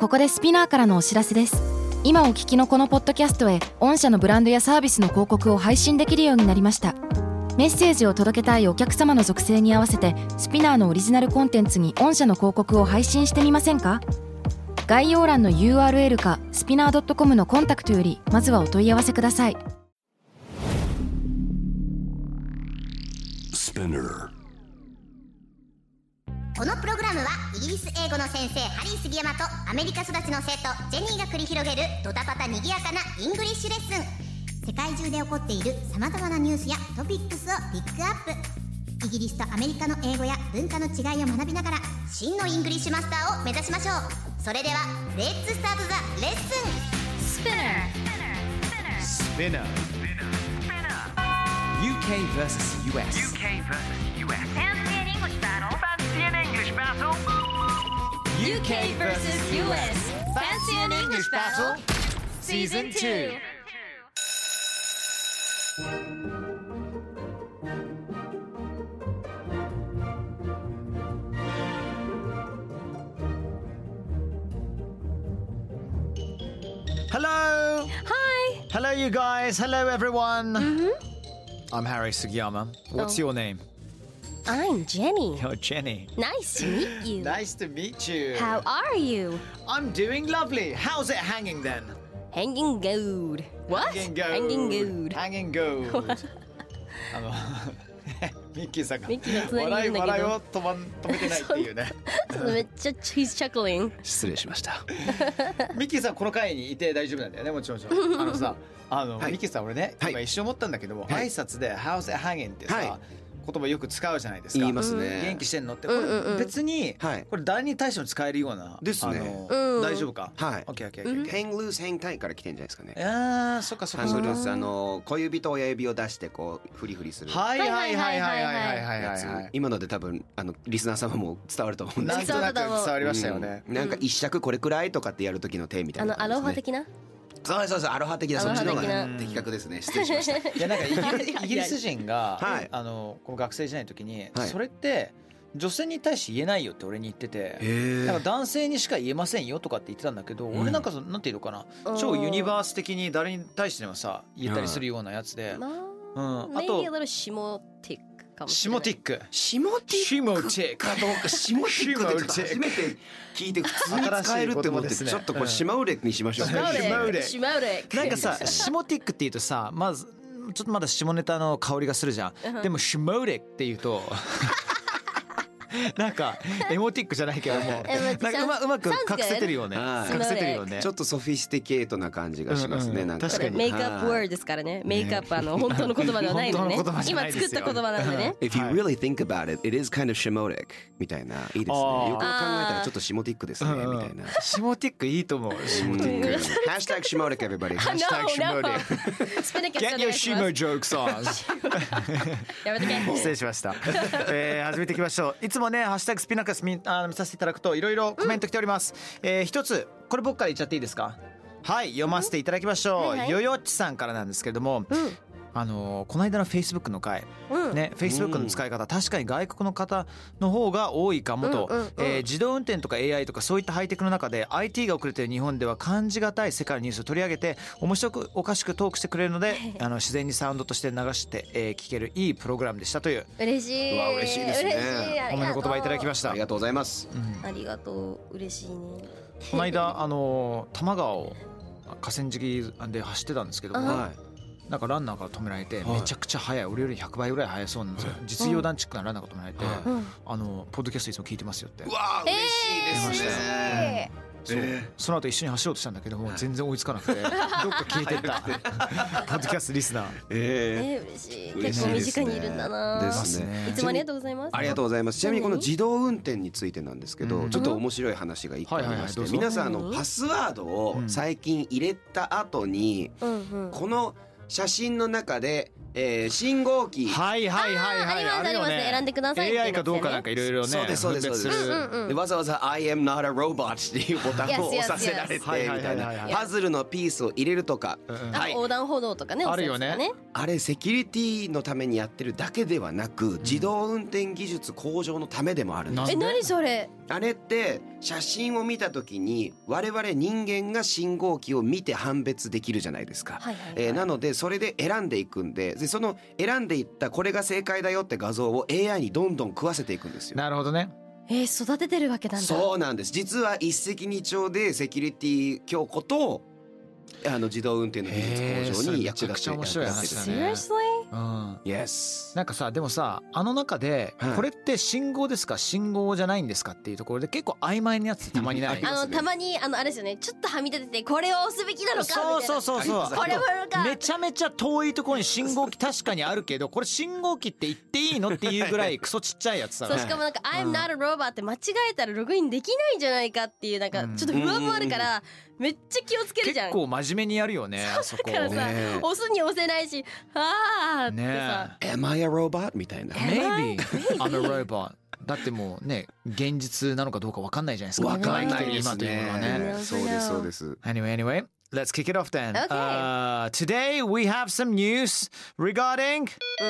ここでスピナーからのお知らせです。今お聞きのこのポッドキャストへ御社のブランドやサービスの広告を配信できるようになりました。メッセージを届けたいお客様の属性に合わせてスピナーのオリジナルコンテンツに御社の広告を配信してみませんか？概要欄の URL かスピナー .com のコンタクトよりまずはお問い合わせください。 このプログラムはイギリス英語の先生ハリー杉山とアメリカ育ちの生徒ジェニーが繰り広げるドタパタにぎやかなイングリッシュレッスン。世界中で起こっている様々なニュースやトピックスをピックアップ。イギリスとアメリカの英語や文化の違いを学びながら真のイングリッシュマスターを目指しましょう。それではレッツスタートザレッスン。 Spinner UK vs US UK vs US Fancy an English Battle Season 2. Hello. Hi. Hello, you guys. Hello, everyone. I'm Harry Sugiyama. What's your name? I'm Jenny. You're Jenny. Nice to meet you. Nice to meet you. How are you? I'm doing lovely. How's it hanging then? Hanging good. What? Hanging gold. Hanging good. Hanging gold. ミッキーさんがミッキーの隣にいるんだけど笑いを止めてないっていうねめっちゃ he's chuckling. 失礼しました。 ミッキーさんこの回にいて大丈夫なんだよね。もちろんさはい、ミッキーさん俺ね、今一瞬思ったんだけども、挨拶で How's it hanging ってさ、言葉よく使うじゃないですか。 言いますね。 元気してんのってこれ別にこれ誰に対しても使えるようなですね。 大丈夫か。 はい。 オッケーオッケー。 hang loose hang tight から来てんじゃないですかね。 ああ、そっかそっか。 ハングルース小指と親指を出してこうフリフリする。 はいはいはいはいはいはいはい。 今ので多分リスナー様も伝わると思うんですけど。 なんとなく伝わりましたよね。 なんか一尺これくらいとかってやる時の手みたいな。 アロハ的な。 そうそうそうアロハ的なそっちの方が的確ですね。失礼しました。 いやなんかイギリス人がこの学生時代の時にそれって女性に対して言えないよって俺に言ってて、なんか男性にしか言えませんよとかって言ってたんだけど、俺なんかなんていうのかな、超ユニバース的に誰に対してもさ言ったりするようなやつで、あとシモティック。 シモティックかどうかシモティックって初めて聞いて普通に使えるって思ってちょっとこうシマウレにしましょう。 シマウレなんかさシモティックって言うとさまずちょっとまだ下ネタの香りがするじゃん。でもシモレって言うとなんかエモティックじゃないけどもなんかうまく隠せてるよね。隠せてるよね。 ちょっとソフィスティケートな感じがしますね。なんか確かにメイクアップワードですからね。メイクアップ本当の言葉ではないのね。今作った言葉なんでね。 If you really think about it, it is kind of shimotic みたいな。いいですね。よく考えたらちょっとシモティックですねみたいな。 シモティックいいと思う。シモティック。 ハッシュタグシモティック everybody。 ハッシュタグシモティック。 スペネキャス Get your shimo jokes on。 やめとけ。 失礼しました。始めていきましょう。いつもねハッシュタグスピナカス見させていただくといろいろコメント来ております。一つこれ僕から言っちゃっていいですか。はい、読ませていただきましょう。よよっちさんからなんですけれども、この間の Facebook の回、ね、Facebook の使い方、確かに外国の方の方が多いかもと、自動運転とか AI とかそういったハイテクの中で IT が遅れている日本では感じがたい世界のニュースを取り上げて面白くおかしくトークしてくれるので自然にサウンドとして流して、聞けるいいプログラムでしたという。 嬉しい。 わ嬉しいですね。 褒めの言葉いただきました。 ありがとうございます。 ありがとう。嬉しいね。 この間多摩川を河川敷で走ってたんですけども、なんかランナーから止められてめちゃくちゃ速い、俺より100倍ぐらい速そうなんですよ。実業団チックなランナーが止められて、ポッドキャストいつも聞いてますよって。 うわ嬉しいですね。 その後一緒に走ろうとしたんだけども全然追いつかなくてどっか消えてったポッドキャストリスナー。 嬉しい。結構身近にいるんだな。 ですね。 いつもありがとうございます。 ありがとうございます。ちなみにこの自動運転についてなんですけど、ちょっと面白い話が一個ありまして、皆さんパスワードを最近入れた後にこの写真の中で信号機はいはいはいはいありますね。選んでください。 AI かどうかなんかいろいろね。 そうですそうですそうです。でわざわざ I am not a robot っていうボタンを押させられてみたいなパズルのピースを入れるとか、 横断歩道とかね。 あるよね。 あれセキュリティのためにやってるだけではなく自動運転技術向上のためでもあるんです。 何それ。 あれって写真を見た時に我々人間が信号機を見て判別できるじゃないですか、なのでそれで選んでいくんで、その選んでいったこれが正解だよって画像を AI にどんどん食わせていくんですよ。 なるほどね。 育ててるわけなんだ。 そうなんです。実は一石二鳥でセキュリティ強化と自動運転の技術向上に役立ってる。 面白い話だね。 Seriously? Yes。 なんかさ、でもさ、あの中でこれって信号ですか信号じゃないんですかっていうところで結構曖昧なやつたまにない？ たまにあれですよね、ちょっとはみ出ててこれを押すべきなのかみたいな。 そうこれもかめちゃめちゃ遠いところに信号機確かにあるけど、これ信号機って言っていいのっていうぐらいクソちっちゃいやつさ。 そう、しかもなんか I'm not a robot って間違えたらログインできないんじゃないかっていうなんかちょっと不安もあるからめっちゃ気をつけるじゃん。 結構真面目にやるよね、あそこ。 だからさ、押すに押せないし、あーってさ、 Am I a robot? みたいな。 Maybe I'm a robot。だってもうね、現実なのかどうか分かんないじゃないですか。 分かんないです今というのはね。 ね。 そうですそうです。 Anyway, let's kick it off then. Okay. Today we have some news regarding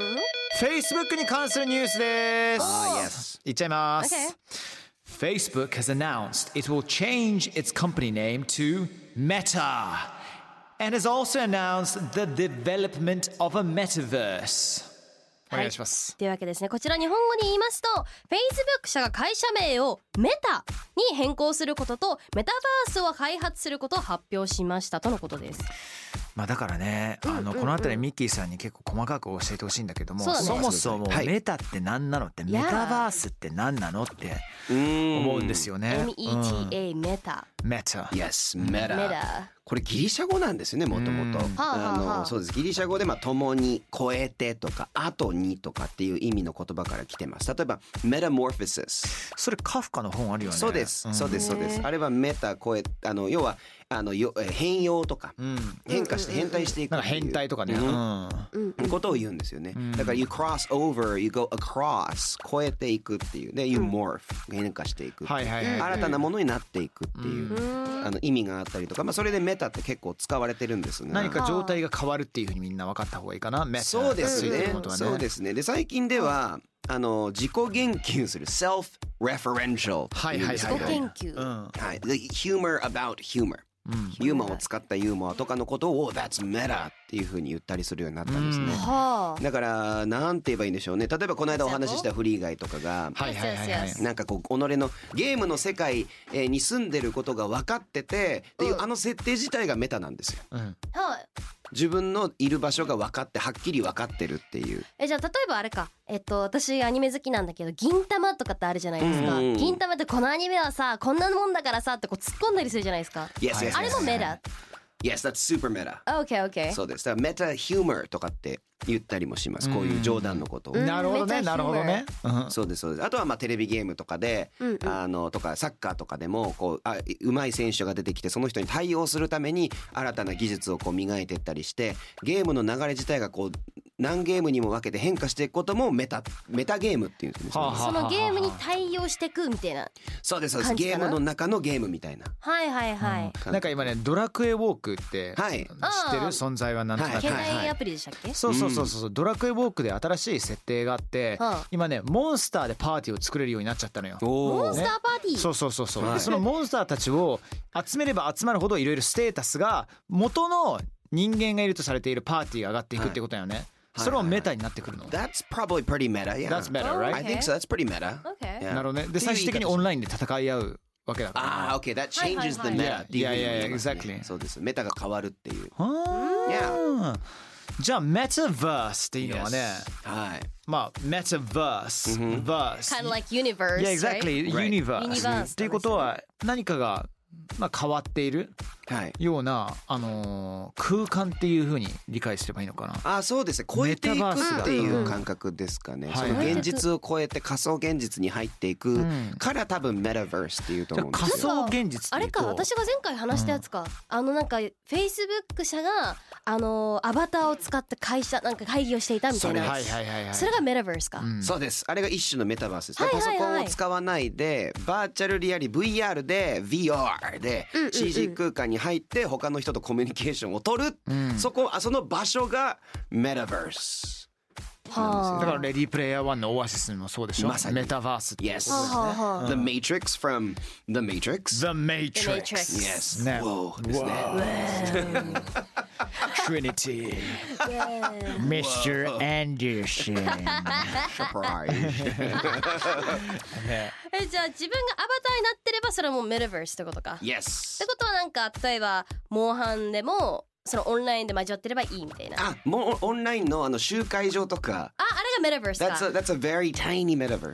Facebook に関するニュースです。 Yes。 いっちゃいます。 Okay. Facebook has announced it will change its company name to Meta and has also announced the development of a metaverse. お願いします。 というわけですね、こちら日本語に言いますと Facebook 社が会社名をメタに変更することとメタバースを開発することを発表しましたとのことです。 まあだからね、このあたりミッキーさんに結構細かく教えてほしいんだけども、 そうだね、 そもそもメタって何なのって、メタバースって何なのって思うんですよね。 META メタ。 メタ。 Yes、メタ。これギリシャ語なんですよね、もともと。そうです。ギリシャ語で共に超えてとか後にとかっていう意味の言葉から来てます。例えばメタモーフィシス。 それカフカの本あるよね。 そうです。そうです。そうです。あれはメタ超え、要は変容とか、変化して変態していく。 なんか変態とかね。 ことを言うんですよね。だから you cross over, you go across 超えていくっていうで you morph 変化していく。新たなものになっていくっていう意味があったりとか、それでメタって結構使われてるんですが、 何か状態が変わるっていうふうにみんな分かった方がいいかな。メタ。 そうですね。そうですね。で最近では自己言及する self-referential 自己研究。 はい。The humor about humor。ユーモアを使ったユーモアとかのことを That's meta っていう風に言ったりするようになったんですね。だからなんて言えばいいんでしょうね。例えばこの間お話ししたフリーガイとかがなんかこう己のゲームの世界に住んでることが分かっててっていう設定自体がメタなんですよ。自分のいる場所が分かってはっきり分かってるっていう。 じゃあ例えばあれか、私アニメ好きなんだけど銀玉とかってあるじゃないですか。銀玉ってこのアニメはさこんなもんだからさってこう突っ込んだりするじゃないですか。あれもメタ。 Yes, that's super meta. Okay. そうです。だからメタヒューマーとかって言ったりもします。こういう冗談のことを。 なるほどね、なるほどね。 そうですそうです。あとはテレビゲームとかで、とかサッカーとかでもこう上手い選手が出てきてその人に対応するために新たな技術をこう磨いていったりして、ゲームの流れ自体がこう何ゲームにも分けて変化していくこともメタゲームっていうんですね。 そのゲームに対応していくみたいな。 そうですそうです。ゲームの中のゲームみたいな。 なんか今ねドラクエウォークって知ってる存在は何とか。 携帯アプリでしたっけ？ そうドラクエウォークで新しい設定があって今ねモンスターでパーティーを作れるようになっちゃったのよ。 モンスターパーティー。 そうでそのモンスターたちを集めれば集まるほどいろいろステータスが元の人間がいるとされているパーティーが上がっていくってことだよね。それもメタになってくるの。 That's probably pretty meta. Yeah. That's meta, right? I think so. That's pretty meta. Okay. なるほどね。で最終的にオンラインで戦い合うわけだから。 Okay. That changes the meta. Yeah, exactly. そうです。メタが変わるっていう。 じゃあメタバースっていうのはね、まあメタバース、 kind of like universe. Yeah, exactly. Universe. っていうことは何かが変わっているような空間っていう風に理解すればいいのかな。 そうですね。超えていくっていう感覚ですかね。その現実を超えて仮想現実に入っていくから多分メタバースっていうと思うんですよ。 仮想現実ってあれか、私が前回話したやつか。なんか Facebook 社がアバターを使って会議をしていたみたいな。それがメタバースか。 そうです。あれが一種のメタバースです。パソコンを使わないでバーチャルリアリ VR で VR で CG 空間に入って他の人とコミュニケーションを取る、その場所がメタバースだからレディープレイヤー1のオアシスもそうでしょ。 まさにメタバースってことですね。 Yes The Matrix from The Matrix The Matrix Yes ね。 Whoa ですね Trinity Mr. Anderson サプライズね。 じゃあ自分がアバターになってればそれはもうメタバースってことか。っ Yes てことはなんか例えばモンハンでもそのオンラインで交わってればいいみたいな。 あ、もうオンラインの集会場とかあれがメタバースか。 That's a very tiny metaverse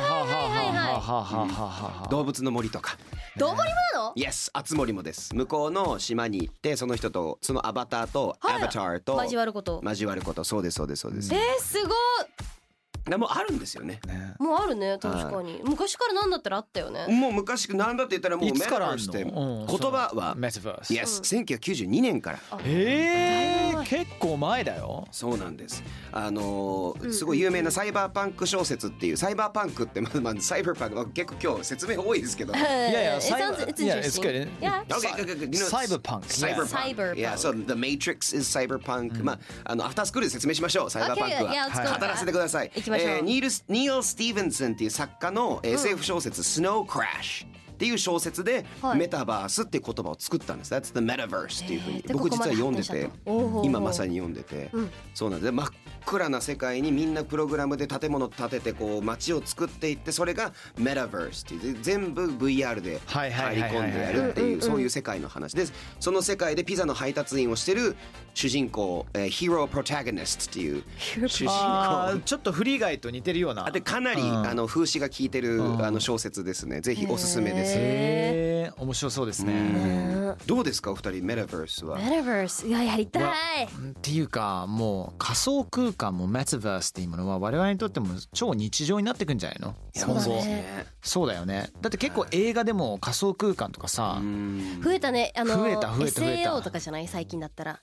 動物の森とかどうもりもなの？ Yes あつ森もです。向こうの島に行ってその人とそのアバターとアバターと交わること。 そうですそうですそうです。 すごい。 でもあるんですよね。 もうあるね確かに。昔からなんだったらあったよね。 もう昔なんだって言ったらもうメタバースって言うん葉はメタバース Yes 1992年から結構前だよ。 そうなんです。すごい有名なサイバーパンク小説っていうサイバーパンクってまずサイバーパンク結構今日説明多いですけど。 いやサイバー It's good. Yeah. Cyberpunk. Cyberpunk. Yeah, so the Matrix is cyberpunk. まあアフタースクールで説明しましょう。サイバーパンク Okay, yeah, let's go. は語らせてください。 行きましょう。 ニール・スティーブンソンっていう作家の SF 小説スノークラッシュっていう小説でメタバースっていう言葉を作ったんです。That's the metaverse っていうふうに僕実は読んでて今まさに読んでてそうなんです。真っ暗な世界にみんなプログラムで建物建ててこう街を作っていってそれがメタバースっていう全部 VR で入り込んでやるっていうそういう世界の話です。その世界でピザの配達員をしてる主人公ヒーロープロタゴニストっていう主人公ちょっとフリーガイと似てるような。 でかなり風刺が効いてる小説ですね。ぜひおすすめです。 面白そうですね。 どうですかお二人メタバースは。 メタバースいややりたい。 っていうかもう仮想空間もメタバースっていうものは我々にとっても超日常になってくんじゃないの。 そうだね。 そうだよね。だって結構映画でも仮想空間とかさ増えたね。 増えた SAO とかじゃない最近だったら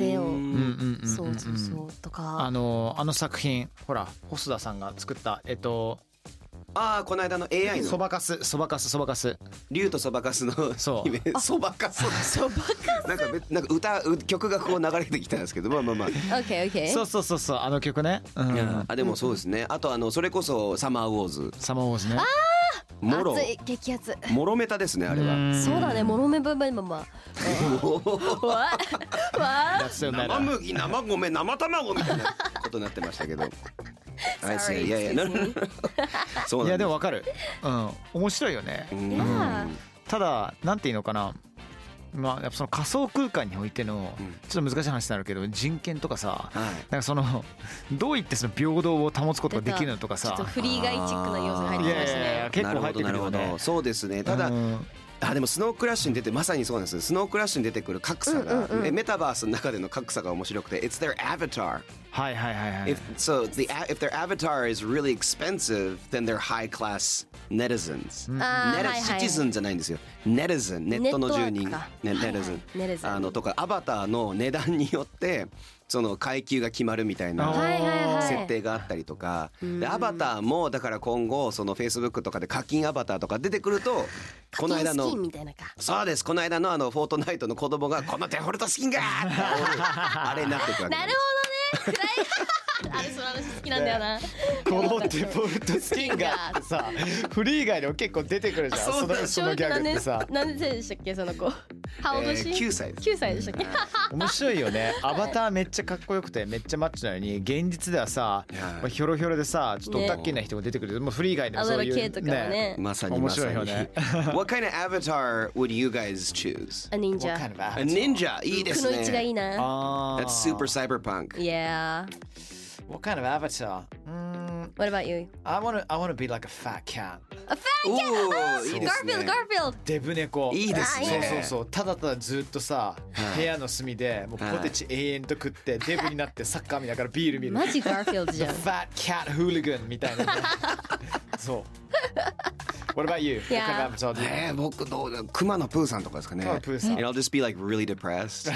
SAO そうとかあの作品ほら細田さんが作ったこの間の AI のそばかす竜とそばかすのそうそばかすなんか曲がこう流れてきたんですけどまあ OK そうあの曲ね。 でもそうですね。あとそれこそサマーウォーズね。 熱い激アツモロメタですねあれは。 そうだねモロメババババ生麦生米生卵みたいなことになってましたけどいやそうなんいやでもわかる。面白いよね。ただなんていうのかな。まあ、やっぱその仮想空間においてのちょっと難しい話になるけど人権とかさ、なんかそのどういってその平等を保つことができるのとかさ、 ちょっとフリーガイチックな要素が入ってましたね。 結構入ってくるよね。 そうですね。ただでもスノークラッシュに出てまさにそうなんです。スノークラッシュに出てくる格差がメタバースの中での格差が面白くて It's their avatar. If their avatar is really expensive, then they're high class netizens. Citizen じゃないんですよ。Netizen ネットの住人Netizen とかアバターの値段によってその階級が決まるみたいな設定があったりとかでアバターもだから今後その Facebook とかで課金アバターとか出てくるとこの間のそうですこの間のフォートナイトの子供がこのデフォルトスキンがあれになってくるわけです。 なるほどね。あれその話好きなんだよな。 このデフォルトスキンがってさフリー以外でも結構出てくるじゃん。そのギャグってさ何歳でしたっけその子。How old is she? 9歳です。 9歳でしたっけ。 面白いよね。アバターめっちゃかっこよくてめっちゃマッチなのに現実ではさヒョロヒョロでさちょっとオタッキーな人も出てくる。もうフリー以外でもそういうねまさに面白いよね。 What kind of avatar would you guys choose? A ninja. A ninja いいですね。 くのいちがいいな。 That's super cyberpunk. Yeah. What kind of avatar? What about you? I want to be like a fat cat. A fat cat! いいですね。 Garfield! デブ猫。 いいですね。 そうただただずっとさ部屋の隅でもうポテチ永遠と食ってデブになってサッカー見ながらビール見る。 マジ Garfield じゃん。 The fat cat hooligan みたいな。そう。What about you? Yeah. What kind of avatar do you want? 僕どうクマのプーさんとかですかね。 クマのプーさん。 And I'll just be like really depressed.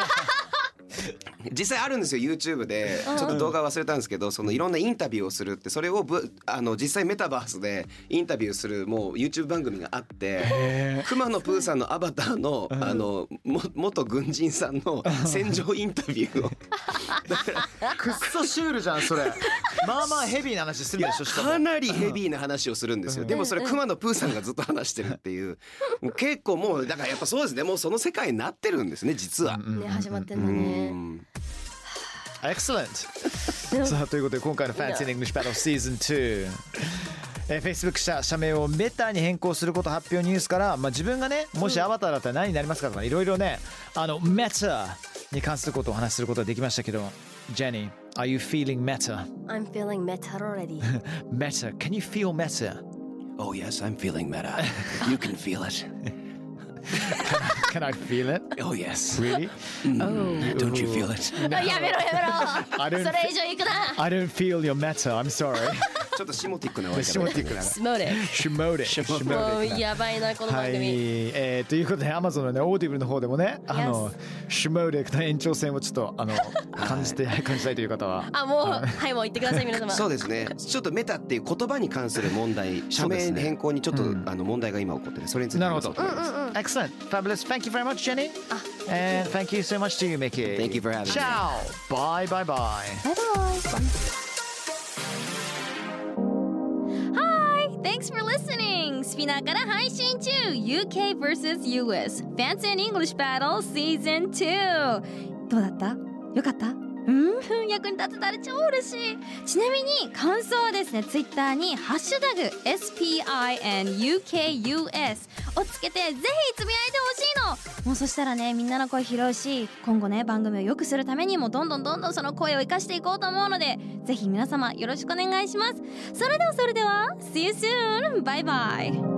実際あるんですよ YouTube でちょっと動画忘れたんですけどそのいろんなインタビューをするってそれを実際メタバースでインタビューするもう YouTube 番組があってクマのプーさんのアバターの元軍人さんの戦場インタビューをくっそシュールじゃんそれ。まあまあヘビーな話するでしょ。 かなりヘビーな話をするんですよ。でもそれ熊野プーさんがずっと話してるっていう、もう結構もうだからやっぱそうですね、もうその世界になってるんですね実は。 ね、始まってんだね。 Excellent さあということで今回の Fancy in English Battle Season 2、Facebook 社名をメタに変更すること発表ニュースから、自分がねもしアバターだったら何になりますかとかいろいろねメタに関することをお話しすることができましたけど、ジェニー Are you feeling meta? I'm feeling meta already. Meta, can you feel meta? Oh yes, I'm feeling meta. You can feel it. Can I feel it? Oh yes. Really? Don't you feel it? やめろそれ以上いくな。 I don't feel your meta, I'm sorry. ちょっとシモティックなシモティックなスモーレシモティックもうやばいなこの番組。 はい、ということで Amazon のねオーディブルの方でもねシモティックな延長線をちょっと感じたいという方はもうはいもう言ってください皆様。 そうですね、ちょっとメタっていう言葉に関する問題、社名変更にちょっと問題が今起こってて、それについてなるほど。Excellent, fabulous. Thank you very much, Jenny. And thank you so much to you, Mickey. Thank you for having me. Ciao. Bye, bye, bye. Bye bye. Thanks for listening! スピナーから配信中 UK vs US Fancy in English Battle Season 2。 どうだった？よかった？役に立てたら超嬉しい。ちなみに感想はですね、ツイッターにハッシュタグ SPINUKUS をつけてぜひつぶやいてほしいの。もうそしたらね、みんなの声拾うし、今後ね番組を良くするためにもどんどんその声を生かしていこうと思うので、ぜひ皆様よろしくお願いします。それでは See you soon! バイバイ。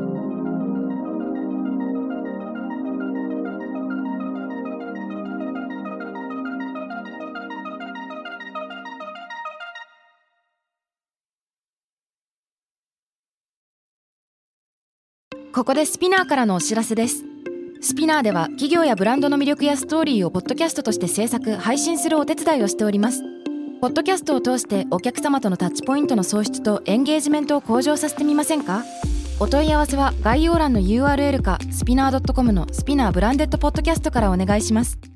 ここでスピナーからのお知らせです。スピナーでは企業やブランドの魅力やストーリーをポッドキャストとして制作・配信するお手伝いをしております。ポッドキャストを通してお客様とのタッチポイントの創出とエンゲージメントを向上させてみませんか？お問い合わせは概要欄の URL かスピナー .com のスピナーブランデッドポッドキャストからお願いします。